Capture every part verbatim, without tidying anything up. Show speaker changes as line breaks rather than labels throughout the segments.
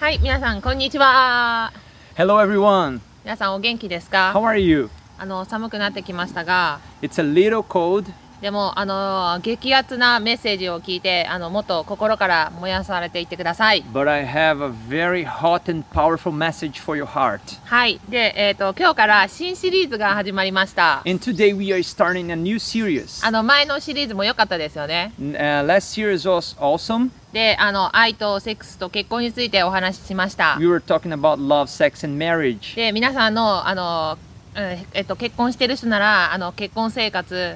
はい、皆さんこんにちは。
Hello everyone.
皆さんお元気ですか？
How are you?
あの寒くなってきましたが、
It's a little cold,
でもあの激アツなメッセージを聞いて、あのもっと心から燃やされていってください。
but I have a very hot and powerful message for your heart.
はい、で、えーと、今日から新シリーズが始まりました。
And today we are starting a new series.
あの前のシリーズも良かったですよね。
Uh, last series was awesome.
で、あの愛とセックスと結婚についてお話ししました。
We were talking about love, sex, and marriage.
で、皆さんのあの、ええっと、結婚してる人ならあの結婚生活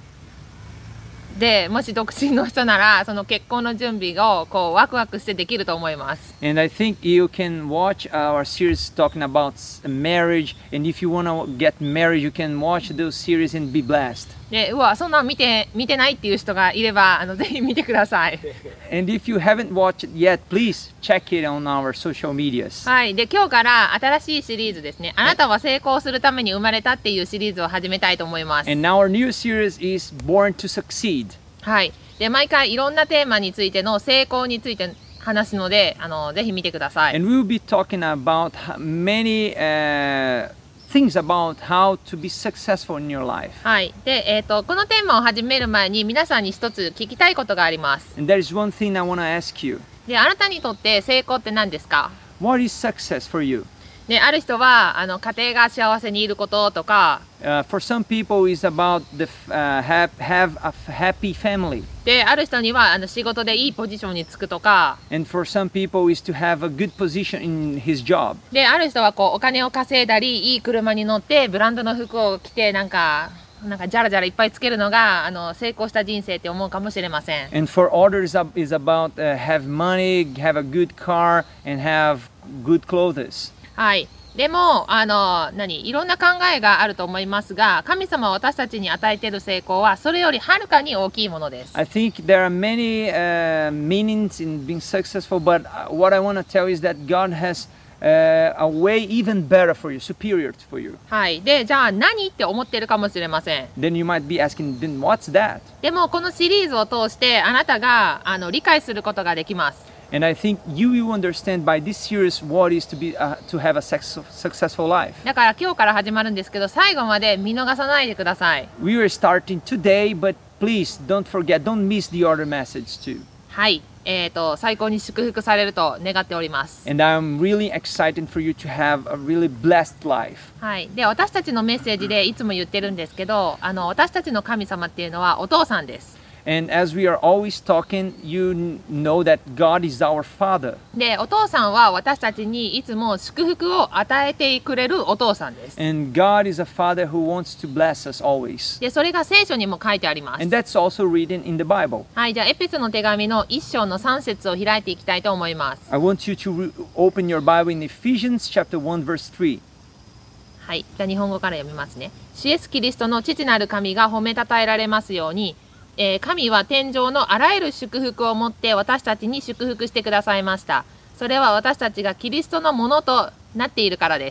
で、もし独身の人ならその結婚の準備をこうワクワクしてできると思います。
And I think you can watch our series talking about marriage. And if you want to get married, you can watch those series and be blessed.
で、うわ、そんなん見て見てないっていう人がいれば、あのぜひ見てください。
And if you haven't watched it yet, please check it on our social medias.
はい、で今日から新しいシリーズですね。あなたは成功するために生まれたっていうシリーズを始めたいと思います。
And our new series is Born to Succeed.
はい、で毎回いろんなテーマについての成功について話すので、あのぜひ見てください。
And we'll be talking about many uh, things about how to be successful in your life.
はい、で、えーと、このテーマを始める前に皆さんに一つ聞きたいことがあります。
And there is one thing I want to ask you.
で、あなたにとって成功って何ですか？
What is success for you?
で、ある人はあの家庭が幸せにいることとか、
Uh, for some people, it's about the f- uh, have have a f- happy family.
で、ある人にはあの仕事でいいポジションにつくとか、
And for some people, is to have a good position in his job.
で、ある人はこうお金を稼いだり、いい車に乗ってブランドの服を着てなんかなんかジャラジャラいっぱいつけるのがあの成功した人生って思うかもしれません。
And for others, uh, is about uh, have money, have a good car, and have good clothes.
はい。でもあの何いろんな考えがあると思いますが、神様は私たちに与えている成功はそれよりはるかに大きいものです。
I think there are many uh, meanings in being successful, but uh, what I want to tell is that God has uh, a way even better for you, superior for you.
はい。で、じゃあ何って思ってるかもしれません。
Then you might be asking, then what's that?
でもこのシリーズを通してあなたがあの理解することができます。
And I think you will understand by this series what is to be uh, to have a sex- successful life.
だから今日から始まるんですけど、最後まで見逃さないでください。
We are starting today, but please don't forget, don't miss the other message too.
はい。えーと、最高に祝福されると願っております。
And I'm really excited for you to have a really blessed life.
はい。で、私たちのメッセージでいつも言ってるんですけど、あの私たちの神様っていうのはお父さんです。
And as we are always talking, you kn- know that God is our Father.
で、お父さんは私たちにいつも祝福を与えてくれるお父さんです。
And God is a Father who wants to bless us always.
で、それが聖書にも書いてあります。
And that's also written in the Bible.
はい。じゃあ、エペソの手紙の一章の三節を開いていきたいと思います。
I want you to re- open your Bible in Ephesians chapter one verse three.
はい。じゃあ、日本語から読みますね。シエスキリストの父なる神が褒めたたえられますように、えー神は天上のあらゆる祝福をもって私たちに祝福してくださいました。それは私たちがキリストのものとなっているからです。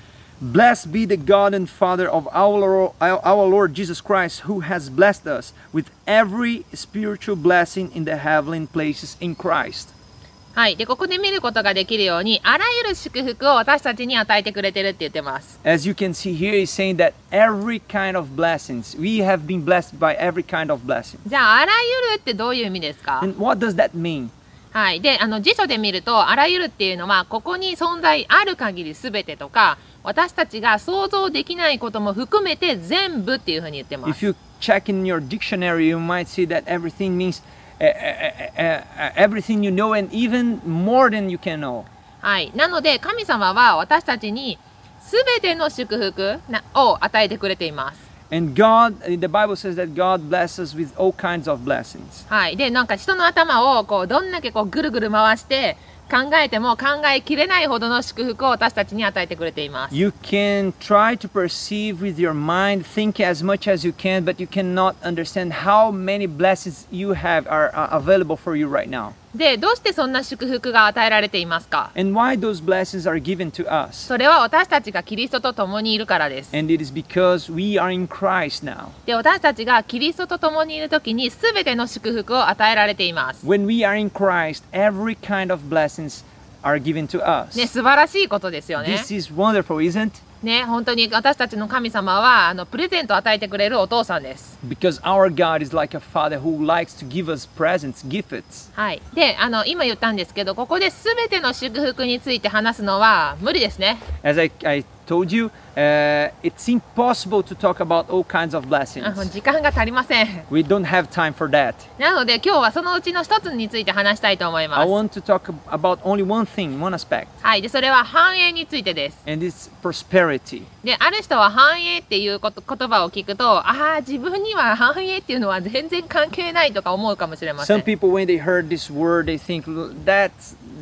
Blessed be the God and Father of our Lord, our Lord Jesus Christ, who has blessed us with every spiritual blessing in the heavenly places in Christ.
はい。で、ここで見ることができるように、あらゆる祝福を私たちに与えてくれてるって言ってます。
As you can see here, he's saying that every kind of blessings, we have been blessed by every kind of blessing.
じゃあ、あらゆるってどういう意味ですか？
And what does that mean?
はい。で、あの、辞書で見ると、あらゆるっていうのは、ここに存在ある限りすべてとか、私たちが想像できないことも含めて全部っていうふうに言ってま
If
す。
you check in your dictionary, you might see that everything means uh, uh, uh, uh, everything you know and even more than you can know.
はい。なので、神様は私たちにすべての祝福なを与えてくれています。
And God, the Bible says that God blesses us with all kinds of blessings.
はい。で、なんか人の頭をこうどんだけこうぐるぐる回して考えても考えきれないほどの祝福を私たちに与えてくれています。
You can try to perceive with your mind, think as much as you can, but you cannot understand how many blessings you have are uh, available for you right now.
で、どうしてそんな祝福が与えられていますか？
And why those blessings are given to us.
それは私たちがキリストと共にいるからです。
And it is because we are in Christ now.
で、私たちがキリストと共にいるときにすべての祝福を与えられています。
When we are in Christ, every kind of blessings are given to us.
ね、素晴らしいことですよね。
This is wonderful, isn't it?
ね、本当に私たちの神様はあのプレゼントを与えてくれるお父さんです。
Because our God is like a father who likes to give us presents, gifts.
はい。で、あの今言ったんですけど、ここで全ての祝福について話すのは無理ですね。
As I, I told you, uh, it's impossible to talk about all kinds of
あ
blessings.
時間が足りません。
We don't have time for that.
なので今日はそのうちの一つについて話したいと思いま
I
す。
want to talk about only one thing, one aspect,
はい。で、それは繁栄についてです。
and it's prosperity.
で、ある人は繁栄っていうこと言葉を聞くと、ああ、自分には繁栄っていうのは全然関係ないとか思うかもしれませ
Some
ん。
people, when they heard this word, they think that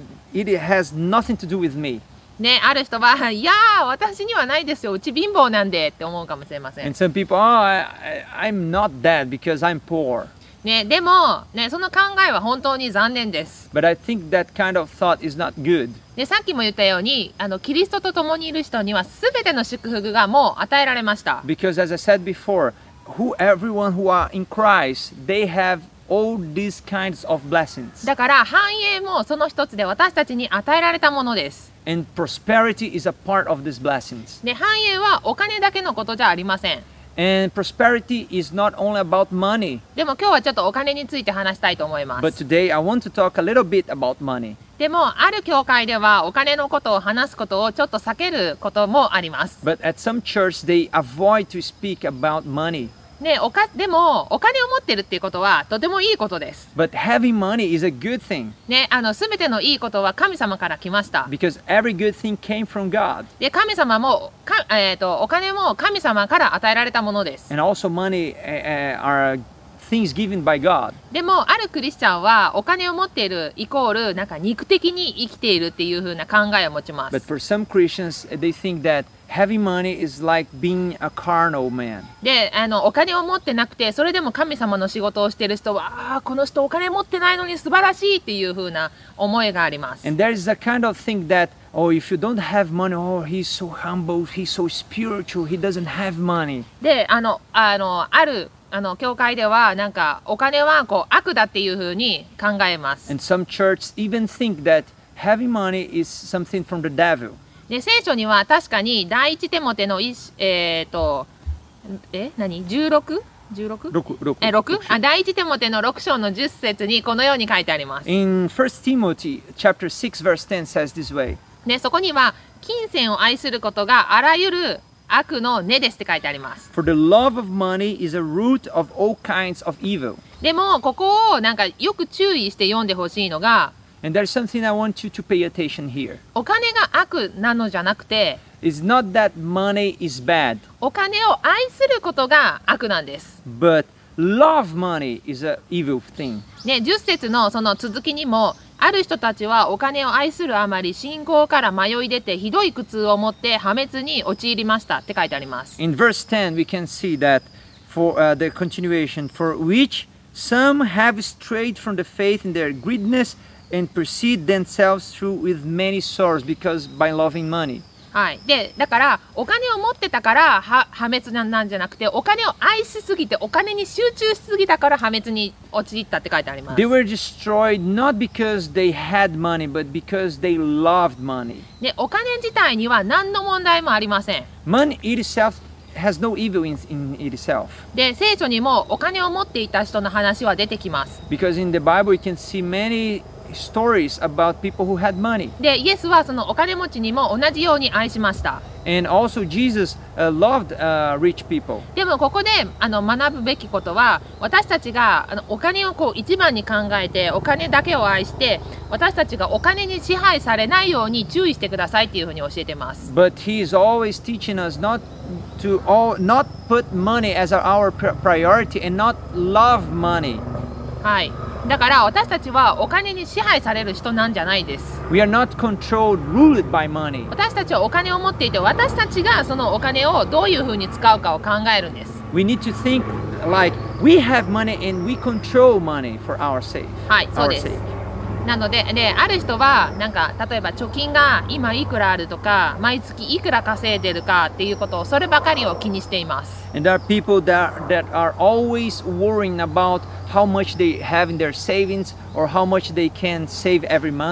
it has nothing to do with me.
ね、ある人は、いやー、私にはないですよ、うち貧乏なんでって思うかもしれません。
And some people, oh, I, I, I'm not that because I'm poor.
ね、でも、ね、その考えは本当に残念です。
But I think that kind of thought is not good.
で、さっきも言ったように、あのキリストと共にいる人には全ての祝福がもう与えられました。
Because as I said before, who everyone who are in Christ, they have all these kinds of blessings.
だから繁栄もその一つで私たちに与えられたものです。
And prosperity is a part of these blessings.
で、繁栄はお金だけのことじゃありません。
And prosperity is not only about money.
でも今日はちょっとお金について話したいと思いま
But
す。
today I want to talk a little bit about money.
でも、ある教会ではお金のことを話すことをちょっと避けることもあります。
But at some church they avoid to speak about money.
ね、おかでもお金を持ってるっていうことはとてもいいことです。
But having money is a good thing
ね、あの全てのいいことは神様から来ました。
because every good thing came from God.
で、神様もか、えーと、お金も神様から与えられたものです。
And also money uh, uh, are things given by God.
でも、あるクリスチャンはお金を持っているイコールなんか肉的に生きているっていう風な考えを持ちま
But
す。
for some Christians, they think that having money is like being a carnal man.
で、あのお金を持ってなくてそれでも神様の仕事をしている人は、ああ、この人お金持ってないのに素晴らしいっていう風な思いがあります。
And there is a kind of thing that, oh, if you don't have money, oh, he's so humble, he's so spiritual, he doesn't have money.
で、あの、あの、ある、あの、教会では、なんか、お金は、こう、悪だっていうふうに考えます。
And some churches even think that having money is something from the devil.
で、聖書には確かに、第一テモテの一、えっ、ー、と、え、何 ?じゅうろく?じゅうろく?
六六
え、ろく? あ、第一テモテのろく章のじゅっ節にこのように書いてあります。
In First Timothy chapter six verse ten says this way.
ね、そこには、金銭を愛することがあらゆる悪の根ですって書いてあります。
For the love of money is a root of all kinds of evil.
でも、ここをなんかよく注意して読んでほしいのが、
And there's something I want you to pay attention here.
お金が悪なのじゃなくて、
It's not that money is bad,
お金を愛することが悪なんです。
but love money is an evil thing.
ね、じゅっ節のその続きにも、ある人たちはお金を愛するあまり信仰から迷い出てひどい苦痛を持って破滅に陥りましたって書いてあります。
In verse ten, we can see that for uh, the continuation, for which some have strayed from the faith in their greediness and pursued themselves through with many sorrows because by loving money.
はい。で、だからお金を持ってたからは破滅なんじゃなくて、お金を愛しすぎてお金に集中しすぎたから破滅に陥ったって書いてあります。
They were destroyed not because they had money, but because they loved money.
で、お金自体には何の問題もありません。
Money itself has no evil in, in itself.
で、聖書にもお金を持っていた人の話は出てきます。
Because in the Bible, you can see many stories about people who had money.
で、イエスはそのお金持ちにも同じように愛しました。
And also Jesus uh, loved uh, rich people.
でもここであの学ぶべきことは、私たちがあのお金をこう一番に考えてお金だけを愛して、私たちがお金に支配されないように注意してくださいっていうふうに教えてます。
But he is always teaching us not to all, not put money as our priority and not love money.
はい。だから私たちはお金に支配される人なんじゃないです。
We are not controlled, ruled by money.
私たちはお金を持っていて、私たちがそのお金をどういうふうに使うかを考えるんです。
We need to think like we have money and we control money for our sake.
はい、そう
Our
です。
sake.
なので、で、ある人はなんか例えば貯金が今いくらあるとか、毎月いくら稼いでるかっていうことをそればかりを気にしています。
And there are people that, that are always worrying about how much they have in their savings or how much they can save every month.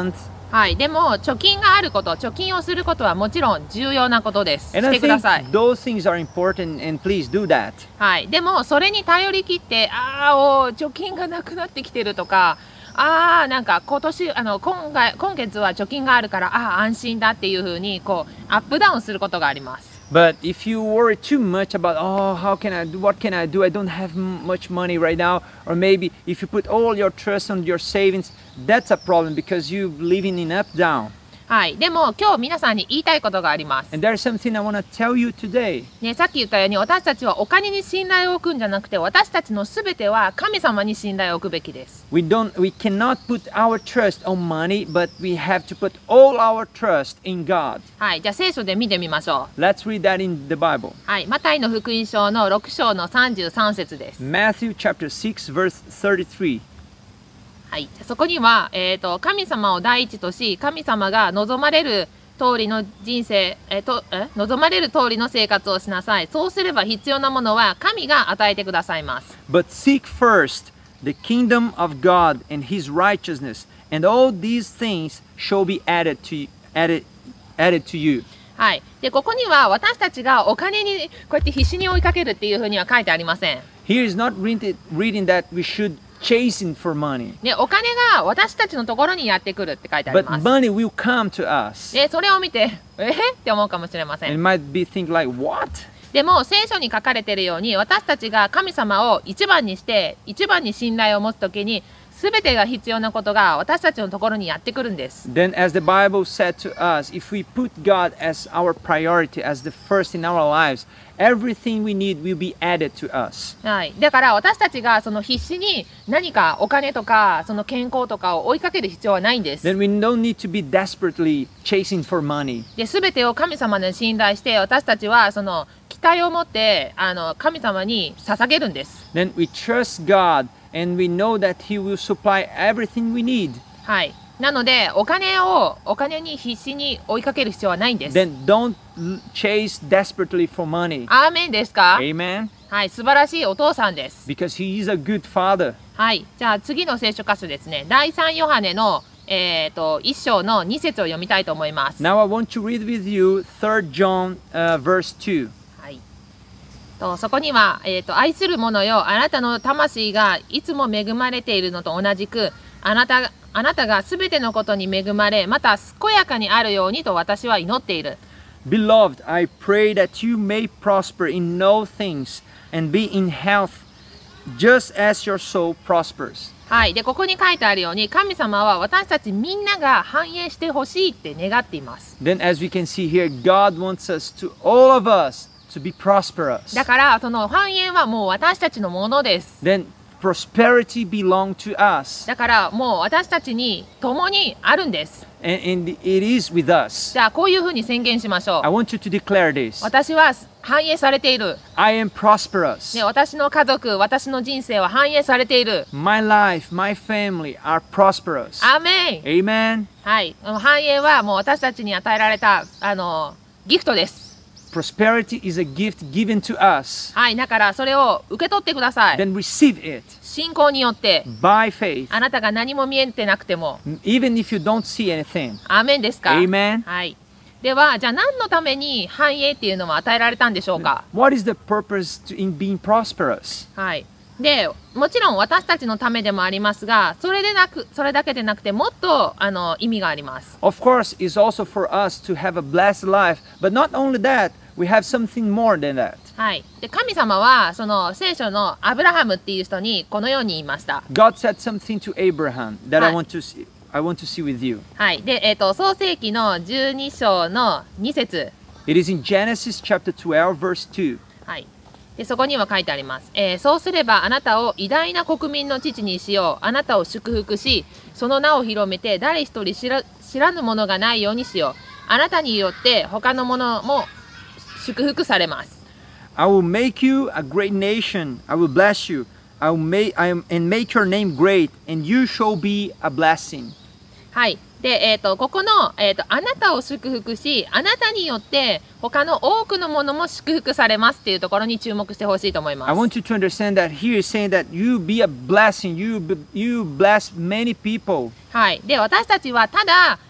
はい、でも貯金があること、貯金をすることはもちろん重要なことです。
And
し
I
てくだ
think
さい。
those things are important, and please do that.
はい、でもそれに頼り切って、ああ、お貯金がなくなってきてるとか、ああ、なんか今年あの今回今月は貯金があるから、ああ安心だっていう風にこうアップダウンすることがあります。
But if you worry too much about, oh, how can I do, what can I do? I don't have m- much money right now. Or maybe if you put all your trust on your savings, that's a problem because you're living in up down.
はい、でも今日皆さんに言いたいことがあります。
And there's something I want to tell you today.
ね、さっき言ったように私たちはお金に信頼を置くんじゃなくて、私たちのすべては神様に信頼を置くべきです。
We don't, we cannot put our trust on money, but we have to put all our trust in God.
はい、じゃあ聖書で見てみましょう。
Let's read that in the Bible.
はい、マタイの福音書のろく章のさんじゅうさん節です。
Matthew chapter six, verse thirty-three.
はい、そこには、えーと、神様を第一とし、神様が望まれる通りの人生、えーとえ望まれる通りの生活をしなさい。そうすれば必要なものは神が与えてくださいます。
But seek first the kingdom of God and his righteousness, and all these things shall be added to you, added, added to you.
はい、でここには私たちがお金にこうやって必死に追いかけるっていうふうには書いてありません。
Here is not reading, reading that we should chasing for money,
ね、お金が私たちのところにやってくるって書いてあり
but
ます。
money will come to us.
でそれを見て、えーって思うかもしれませ
And
ん。
might be think like, what?
でも聖書に書かれているように、私たちが神様を一番にして一番に信頼を持つときに、すべてが必要なことが私たちのところにやってくるんです。
Then, as the Bible said to us, if we put God as our priority, as the first in our lives, everything we need will be added to us.
はい、だから私たちがその必死に何かお金とかその健康とかを追いかける必要はないんです。
Then we don't need to be desperately chasing for money.
で、すべてを神様に信頼して、私たちはその期待を持ってあの神様に捧げるんです。
Then we trust God and we know that He will supply everything we need.
はい。なのでお金をお金に必死に追いかける必要はないんです。
Then don't l- chase desperately for money.
アーメンですか？
Amen?
はい、素晴らしいお父さんです。
Because He is a good Father.
はい、じゃあ次の聖書箇所ですね。第三ヨハネのえっと一章の二節を読みたいと思います。
Now I want to read with you third John uh, verse two.
はい。とそこには、えーと、愛する者よ、あなたの魂がいつも恵まれているのと同じく、あなたあなたがすべてのことに恵まれ、また健やかにあるようにと私は祈っている。
Beloved, I pray that you may prosper in all things and be in health just as your soul prospers.
はい。で、ここに書いてあるように、神様は私たちみんなが繁栄してほしいって願っています。
Then as we can see here, God wants us to, all of us, to be prosperous.
だから、その繁栄はもう私たちのものです。
Then prosperity belongs to us.
だからもう私たちに共にあるんです。
And, and it is with us.
じゃあこういうふうに宣言しましょ
I
う。
want you to declare this.
私は繁栄されている。
I am prosperous.
ね、私の家族、私の人生は繁栄されている。
My life, my family are prosperous.
アーメン。
Amen.
はい。繁栄はもう私たちに与えられた、あの、ギフトです。
Prosperity is a gift given to us.
はい。だからそれを受け取ってください。
Then receive it
信仰によって、
by faith.
あなたが何も見えてなくても、
Even if you don't see anything.
アーメンですか？
Amen.
はい。では、じゃあ何のために繁栄っていうのは与えられたんでしょうか？
What is the purpose to, in being prosperous?
はい。で、もちろん私たちのためでもありますが、それでなく、それだけでなくて、もっとあの意味があります。
Of course, it's also for us to have a blessed life. But not only that, we have something more than that.
はい。で、神様は、その聖書のアブラハムっていう人にこのように言いました。
God said something to Abraham that I
Hi.
want to see, I want to see with you.
はい。で、えっ、と、創世記のじゅうに章のに節。
It is in Genesis chapter twelve, verse two.
はい。で、そこには書いてあります。えーそうすればあなたを偉大な国民の父にしよう。あなたを祝福し、その名を広めて誰一人知ら知らぬものがないようにしよう。あなたによって他のものも祝福されます。
I will make you a great nation. I will bless you. I will make, I am, and make your name great, and you shall be a blessing.
はい。で、えっ、と、ここの、えっ、と、あなたを祝福し、あなたによって他の多くのものも祝福されますっていうところに注目してほしいと思いま
I
す。
want you to understand that here is saying that you be a blessing. You, be, you bless many people.
はい。で、私たちはただ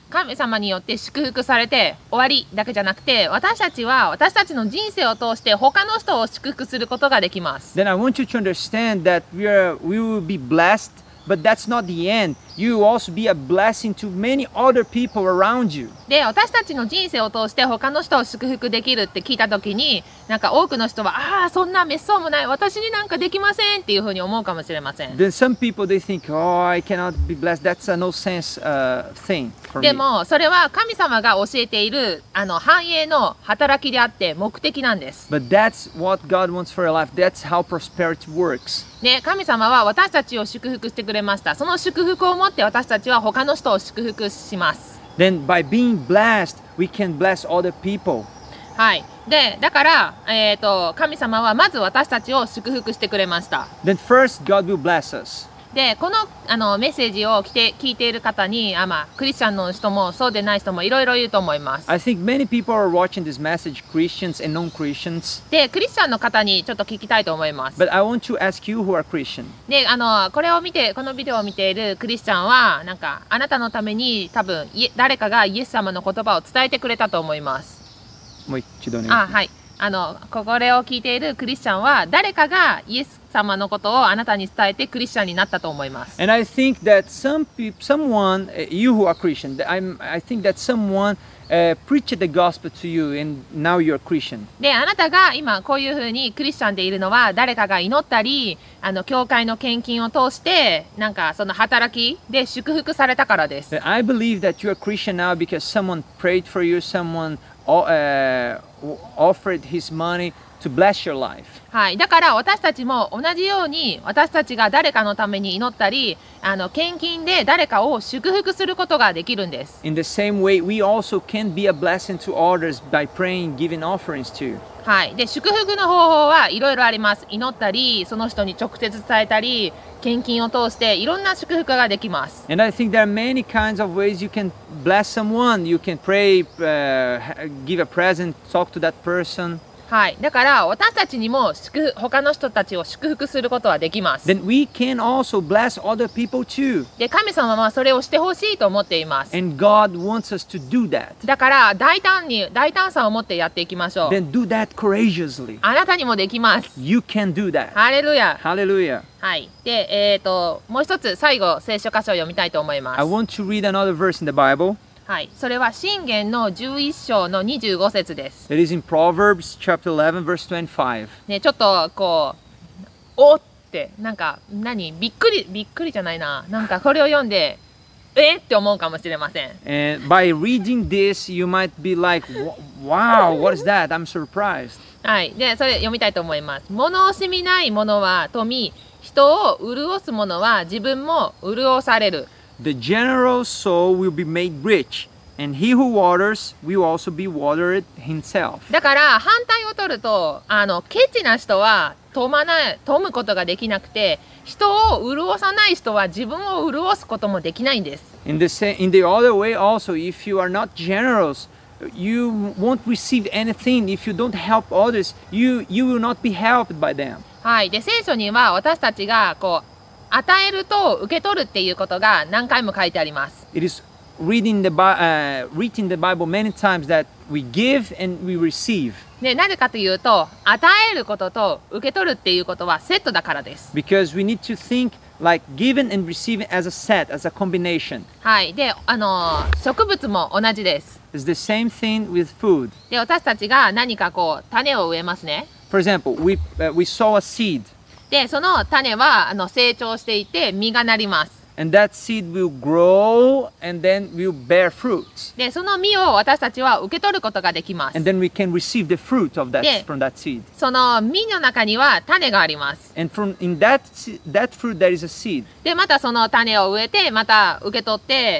神様によって祝福されて終わりだけじゃなくて、私たちは私たちの人生を通して他の人を祝福することができます。
Then I want you to understand that we are we will be blessed, but that's not the end. You will also be a blessing to many other people around you.
で、私たちの人生を通して他の人を祝福できるって聞いたときに、なんか多くの人は、ああ、そんなめっそうもない、私になんかできませんっていうふうに思うかもしれません。
Then some people they think, oh, I cannot be blessed. That's a no sense uh, thing for
で
me.
も、それは神様が教えているあの繁栄の働きであって目的なんです。
But that's what God wants for your life. That's how prosperity works.
ね、神様は私たちを祝福してくれました。その祝福を持って私たちは他の人を祝福します。
Then by being blessed, we can bless other people.
はい。で、だから、えっと、神様はまず私たちを祝福してくれました。
Then first, God will bless us.
で、このあのメッセージを聞いて、聞いている方に、あ、まあ、クリスチャンの人もそうでない人もいろいろいると思います。
I think many people are watching this message, Christians and non-Christians.
で、クリスチャンの方にちょっと聞きたいと思います。
But I want to ask you who are Christian.
で、あの、これを見て、このビデオを見ているクリスチャンは、なんか、あなたのために多分、い誰かがイエス様の言葉を伝えてくれたと思います。
もう一度ね。
あ、はい。あの、これを聞いているクリスチャンは、誰かがイエス様のことをあなたに伝えてクリスチャンになったと思います。
And I think that some people, someone, uh, you who are Christian, I'm, I think that someone uh, preached the gospel to you and now you're Christian.
で、あなたが今こういうふうにクリスチャンでいるのは、誰かが祈ったり、あの、教会の献金を通して、なんかその働きで祝福されたからです。
I believe that you're Christian now because someone prayed for you, someone uh, offered his money to bless your life.
はい。だから私たちも同じように、私たちが誰かのために祈ったり、あの、献金で誰かを祝福することができるんです。
In the same way, we also can be a blessing to others by praying, giving offerings too.
はい。で、祝福の方法はいろいろあります。祈ったり、その人に直接伝えたり、献金を通していろんな祝福ができます。
And I think there are many kinds of ways you can bless someone. You can pray, uh, give a present, talk to that person.
はい。だから私たちにも祝福他の人たちを祝福することはできます。
Then we can also bless other people too.
で、神様はそれをしてほしいと思っています。
And God wants us to do that.
だから大胆に、大胆さを持ってやっていきましょう。
Then do that courageously.
あなたにもできます。
You can do that.
ハレルヤ。
Hallelujah.
はい。で、えっと、もう一つ最後、聖書箇所を読みたいと思いま
I
す。
want to read another verse in the Bible.
はい。それは箴言のじゅういっ章のにじゅうご節です。
It is in Proverbs chapter eleven, verse twenty-five.
ね、ちょっとこう、おってなんか何びっくりびっくりじゃないな、なんかこれを読んでえって思うかもしれません。
And by reading this, you might be like, wow, what is that? I'm surprised.
はい。で、それ読みたいと思います。物惜しみないものは富、人を潤すものは自分も潤される。
The generous soul will be made rich, and he who waters will also be watered himself.
だから反対を取ると、あのケチな人は富まない富むことができなくて、人を潤さない人は自分を潤すこともできないんです。
In the sa- in the other way also, if you are not generous, you won't receive anything. If you don't help others, you you will not be helped by them.
はい。で、聖書には私たちがこう与えると受け取るっていうことが何回も書いてあります。
It is reading the Bi- uh, reading the Bible many times that we give and we receive.
で、なぜかというと、与えることと受け取るっていうことはセットだからです。
Because we need to think like giving and receiving as a set, as a combination.
はい。で、あのー植物も同じです。
It's the same thing with food.
で、私たちが何かこう種を植えますね。
For example, we uh, we sow a seed,
で、その種はあの成長していて実がなります。
and that seed will grow and then will bear fruits.
で、その実を私たちは受け取ることができます。
And then we can receive the fruit of that
Yeah.
from that seed.
その実の中には種があります。
And from in that se- that fruit there is a seed.
で、またその種を植えて、また受け取って、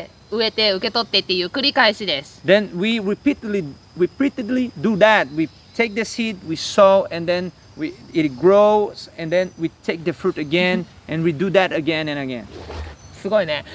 植えて受け取ってっていう繰り返しです。
Then we repeatedly repeatedly do that. We take the seed, we sow, and then we it grows, and then we take the fruit again, and we do that again and again.
すごいね。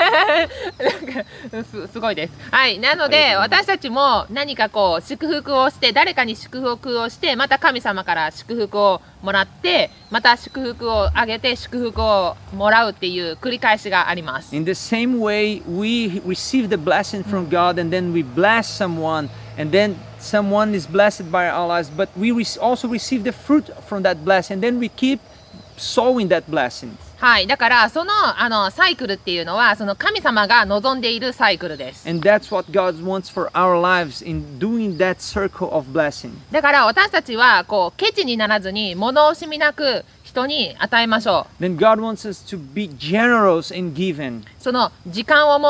なんかす、すごいです。はい。なので、私たちも何かこう、祝福をして、誰かに祝福をして、また神様から祝福をもらって、また祝福をあげて、祝福をもらうっていう繰り返しがあります。
In the same way, we receive the blessing from God and then we bless someone, and then someone is blessed by our lives, but we also receive the fruit from that blessing, and then we keep sowing that blessing.
はい。だから、その、あの、サイクルっていうのは、その神様が望んでいるサイクルです。
And that's what God wants for our lives in doing that circle of blessing.
だから、私たちは、こう、ケチにならずに、物惜しみなく、人に与えましょう。
Then God wants us to be generous in giving.
その、時間を持って、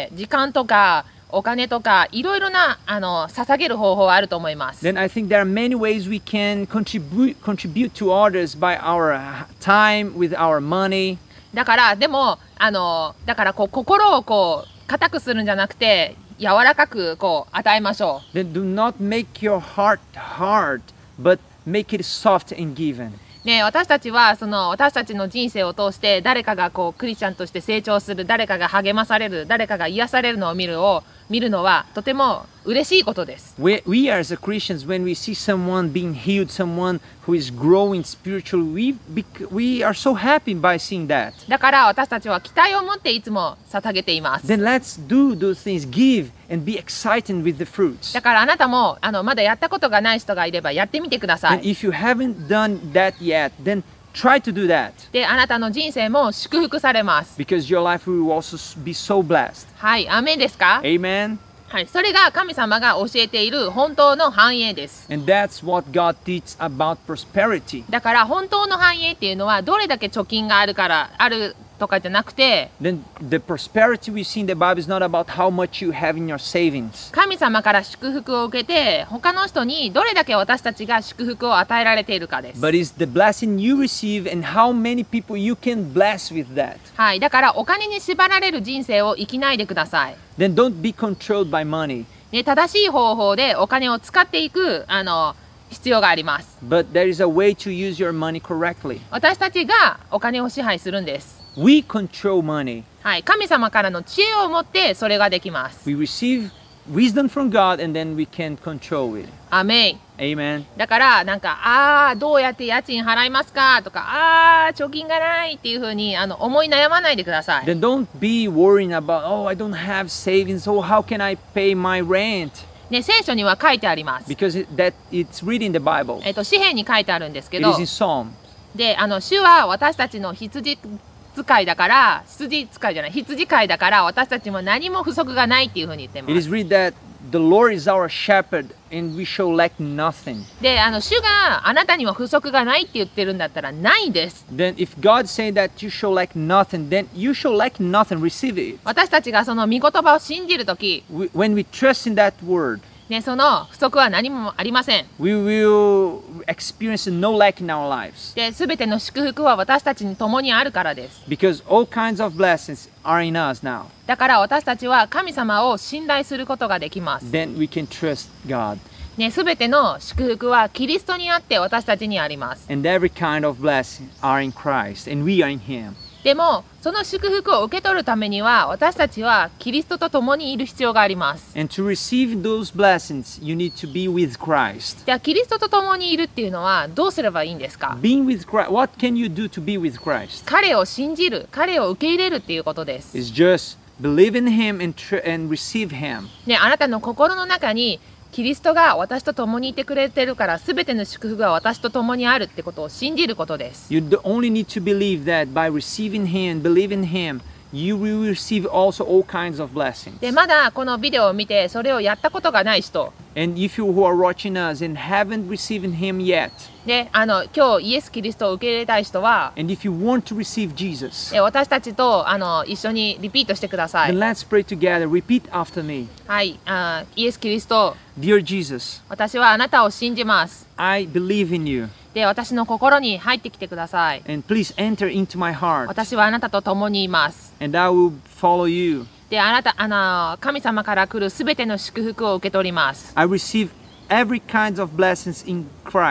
時間とか、お金とかいろいろなあの捧げる方法はあると思います。
Then I think there are many ways we can contribute contribute to others by our time, with our money.
だからでもあのだからこう心をこう固くするんじゃなくて柔らかくこう与えましょう。
Then do not make your heart hard, but make it soft in giving.
ね、私たちはその私たちの人生を通して誰かがこうクリスチャンとして成長する、誰かが励まされる、誰かが癒されるのを見るを見るのはとても嬉しいことです。
We, we are as a Christians, when we see someone being healed, someone who is growing spiritually, we, we are so happy by seeing that.
だから私たちは期待を持っていつも捧げています。
Then let's do those things, give and be excited with the fruits.
だからあなたもあのまだやったことがない人がいればやってみてくださ
And
い。
if you haven't done that yet, then try to do that.
で、あなたの人生も祝福されます。
Because your life will also be so blessed.
はい、アーメンですか？
Amen.
はい、それが神様が教えている本当の繁栄です。
And that's what God teaches about prosperity.
だから本当の繁栄っていうのはどれだけ貯金があるからあるとかじゃなくて、
Then the prosperity we see in the Bible is not about how much you have in your savings.
神様から祝福を受けて他の人にどれだけ私たちが祝福を与えられているかです。
But it's the blessing you receive and how many people you can bless with that.
はい、だからお金に縛られる人生を生きないでください。
Then don't be controlled by money.
ね、正しい方法でお金を使っていくあの必要があります。
But there is a way to use your money correctly.
私たちがお金を支配するんです。
We control money.
はい、神様からの知恵を持ってそれができます。
We receive wisdom from God and then we can control it.
アメン。
Amen.
だからなんかああどうやって家賃払いますかとかああ貯金がないっていうふうにあの思い悩まないでください。
Then don't be worrying about, oh, I don't have savings. Oh, how can I pay my rent?
ね、聖書には書いてあります。
Because it, that it's written in the Bible.
えっと詩篇に書いてあるんですけ
It
ど、
is in Psalm.
であの主は私たちの羊使いだから羊使いじゃない羊飼いだから私たちも何も不足がないっていうふうに言ってま
It
す。
is written that the Lord is our shepherd and we shall lack nothing.
であの主があなたには不足がないって言ってるんだったらないです。
Then if God say that you shall lack nothing, then you shall lack nothing. Receive it.
私たちがその御言葉を信じるとき、
We, when we trust in that word,
ね、その不足は何もありません。
we will experience no lack in our lives.
で、すべての祝福は私たちに共にあるからです。
Because all kinds of blessings are in us now.
だから私たちは神様を信頼することができます。
Then we can trust God.
ね、すべての祝福はキリストにあって私たちにあります。
And every kind of blessing are in Christ and we are in Him.
でも、その祝福を受け取るためには私たちはキリストと共にいる必要があります。
And to receive those blessings, you need to be with Christ.
じゃあキリストと共にいるっていうのはどうすればいいんですか？
Being with Christ, what can you do to be with Christ?
彼を信じる、彼を受け入れるっていうことです。
It's just believe in Him and, tr- and receive Him.
ね、あなたの心の中にキリストが私と共にいてくれてるから全ての祝福が私と共にあるってことを信じることです。
You d- only need to believe that by receiving Him, believe in Him, you will receive also all kinds of blessings.
で、まだこのビデオを見てそれをやったことがない人、
And if you who are watching us and haven't received Him yet,
で、あの今日イエス・キリストを受け入れたい人は、
and if you want to receive Jesus,
え私たちとあの一緒にリピートしてくださ
then
い。
let's pray together. Repeat after me.
はい、あイエス・キリスト、
Dear Jesus,
私はあなたを信じます。
I believe in you,
で、私の心に入ってきてください。
and please enter into my heart,
私はあなたと共にいます。
and I will follow you.
で、あなた、あの神様から来るすべての祝福を受け取ります。
I receive every kind of blessings in Christ.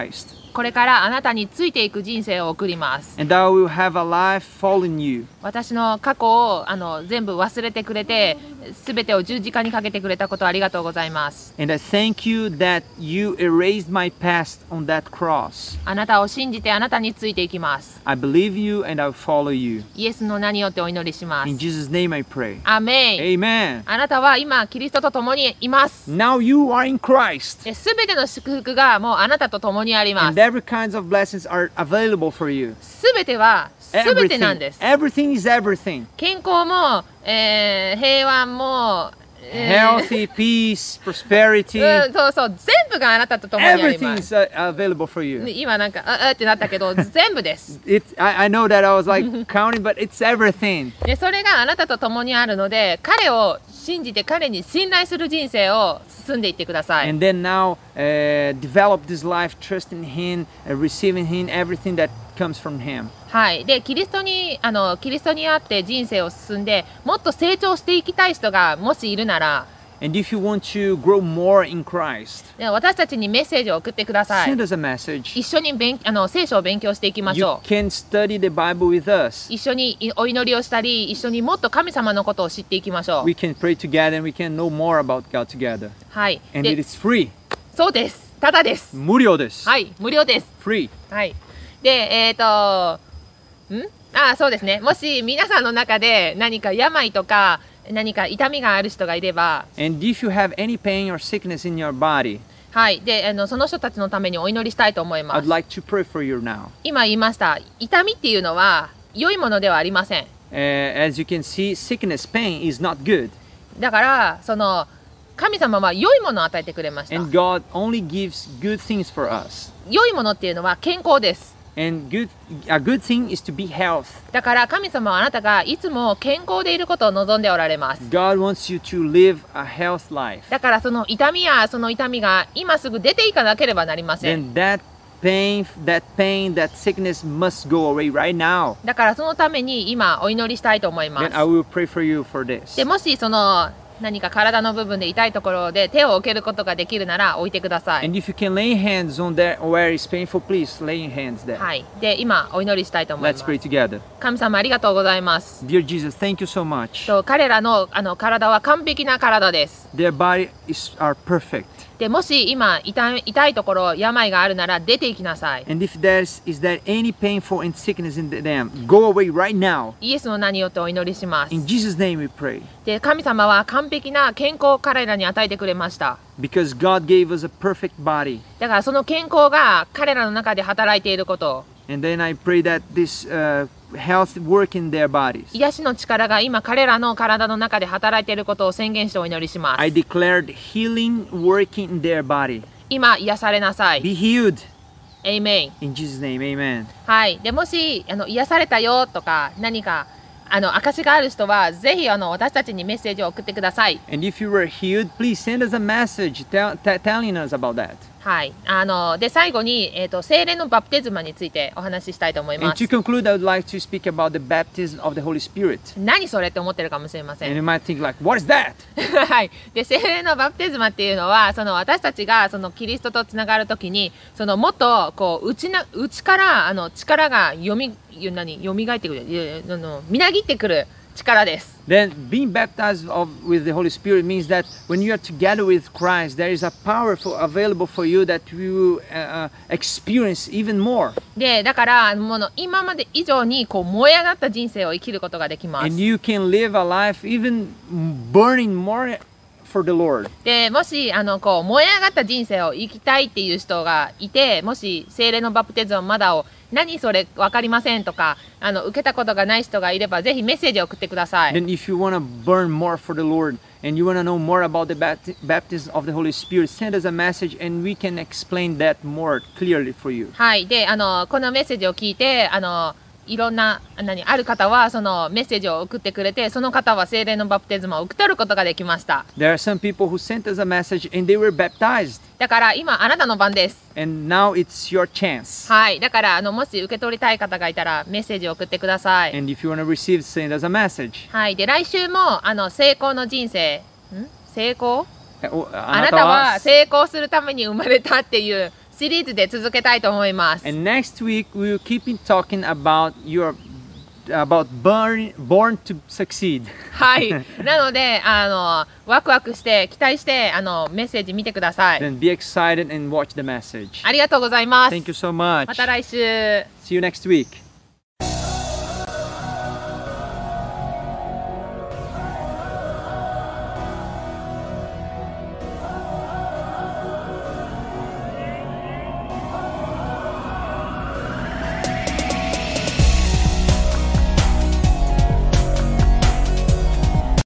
これからあなたについていく人生を送ります。
And I will have a life following you.
私の過去をあの全部忘れてくれて、すべてを十字架にかけてくれたことありがとうございます。
And I thank you that you erased my past on that cross.
あなたを信じてあなたについていきます。
I believe you and I will follow you.
イエスの名によってお祈りしま
In
す。
Jesus' name I pray.
アメン。
Amen.
あなたは今キリストと共にいます。
Now you are in Christ.
すべての祝福がもうあなたと共にありま
And
す。
every kinds of blessings are available for you.
すべてはすべてなん
Everything.
です。
Everything is everything.
健康も、えー平和も、えー
Healthy, peace, prosperity.
うん、そうそう、全部があなたと共にあり
Everything
ま
is
す。
uh, available for you.
今なんか、ああってなったけど、全部です。
It's, I, I know that I was like counting, but it's everything.
で、それがあなたと共にあるので、彼を信じて彼に信頼する人生を進んでいってください。
And then now uh, develop this life, trust in Him, uh, receiving Him, everything that comes from Him.
はい。で、キリストに、あの、キリストにあって人生を進んで、もっと成長していきたい人がもしいるなら、
And if you want to grow more in Christ,
ね私たちにメッセージを送ってください。
send us a message.
一緒に勉あの聖書を勉強していきまし
You
ょう。
can study the Bible with us.
一緒にいお祈りをしたり、一緒にもっと神様のことを知っていきましょう。
We can pray together and we can know more about God together.
はい。
And it
で、
is free.
そうです。ただです。
無料です。
はい。無料です。
Free.
はい。で、えっ、と、んあ、そうですね。もし皆さんの中で何か病とか何か痛みがある人がいれば、
And if you have any pain or sickness in your body,
はい。で、あのその人たちのためにお祈りしたいと思いま
I'd
す。
like to pray for you now.
今言いました。痛みっていうのは良いものではありません。
Uh, as you can see, sickness, pain is not good.
だからその神様は良いものを与えてくれました。
And God only gives good things for us.
良いものっていうのは健康です。
And good, a good thing is to be health.
だから神様はあなたがいつも健康でいることを望んでおられます。
God wants you to live a health life.
だからその痛みやその痛みが今すぐ出ていかなければなりません。
Then that pain, that pain, that sickness must go away right now.
だからそのために今お祈りしたいと思いま
Then
す。
I will pray for you for this.
でもしその何か体の部分で痛いところで手を置けることができるなら置いてください。
And if you can lay hands on that where it's painful, please lay hands there.
はい。で、今お祈りしたいと思いま
Let's
す。
pray together.
神様ありがとうございます。
Dear Jesus, thank you so much.
と彼らのあの体は完璧な体です。
Their body is are perfect.
でもし今痛い痛いところ病があるなら出ていきなさい。
And if there's is there any painful and sickness in them, go away right now.
イエスの名によってお祈りします。
In Jesus' name we pray.
で神様は完璧な健康を彼らに与えてくれました。
Because God gave us a perfect body.
だからその健康が彼らの中で働いていることを、
And then I pray that this uh, health work in their bodies.
癒しの力が今彼らの体の中で働いていることを宣言してお祈りします。
I declared healing working in their body.
今癒されなさい。
Be healed.
エイメン。
In Jesus' name, amen.
はい。でもしあの癒されたよとか何かあの証がある人はぜひあの私たちにメッセージを送ってください。
And if you were healed, please send us a message tell, t- telling us about that.
はい。あので最後にえっ、と聖霊のバプテスマについてお話ししたいと思い
And
ます
to。conclude, I would like to speak about the baptism of the Holy Spirit.
何それって思ってるかもしれませ
And
ん。
you might think like, what is that?
はい。で、聖霊のバプテスマっていうのは、その私たちがそのキリストとつながるときに、そのもっとこう内な内からあの力がよみ何蘇ってくる、いやいやあのみなぎってくる力です。
Then being baptized of, with the Holy Spirit means that when you are together with Christ, there is a power for, available for you that you will uh, uh, experience even more.
で、だからもの今まで以上にこう燃え上がった人生を生きることができます。
And you can live a life even burning more for the Lord.
で、もしあのこう燃え上がった人生を生きたいっていう人がいて、もし聖霊のバプテスマまだを何それ分かりませんとかあの受けたことがない人がいればぜひメッセージを送ってください。
Then if you want to burn more for the Lord and you want to know more about the bapti- baptism of the Holy Spirit, send us a message and we can explain that more clearly for you.
はい。で、あの、このメッセージを聞いて、あの、いろんな、何、ある方は、そのメッセージを送ってくれて、その方は聖霊のバプテスマを受け取ることができました。
There are some people who sent us a message and they were baptized.
だから今、あなたの番です。
And now it's your chance.
はい。だから、あの、もし受け取りたい方がいたら、メッセージを送ってください。
And if you want to receive, send us a message.
はい。で、来週も、あの、成功の人生、ん成功
お
あなたは成功するために生まれたっていう、 シリーズで続けたいと思います。
And next week we will keep in talking about your about born born to succeed.
はい。なので、あのワクワクして期待してあのメッセージ見てください。
Then be excited and watch the message.
ありがとうございます。
Thank you so much.
また来週。
See you next week.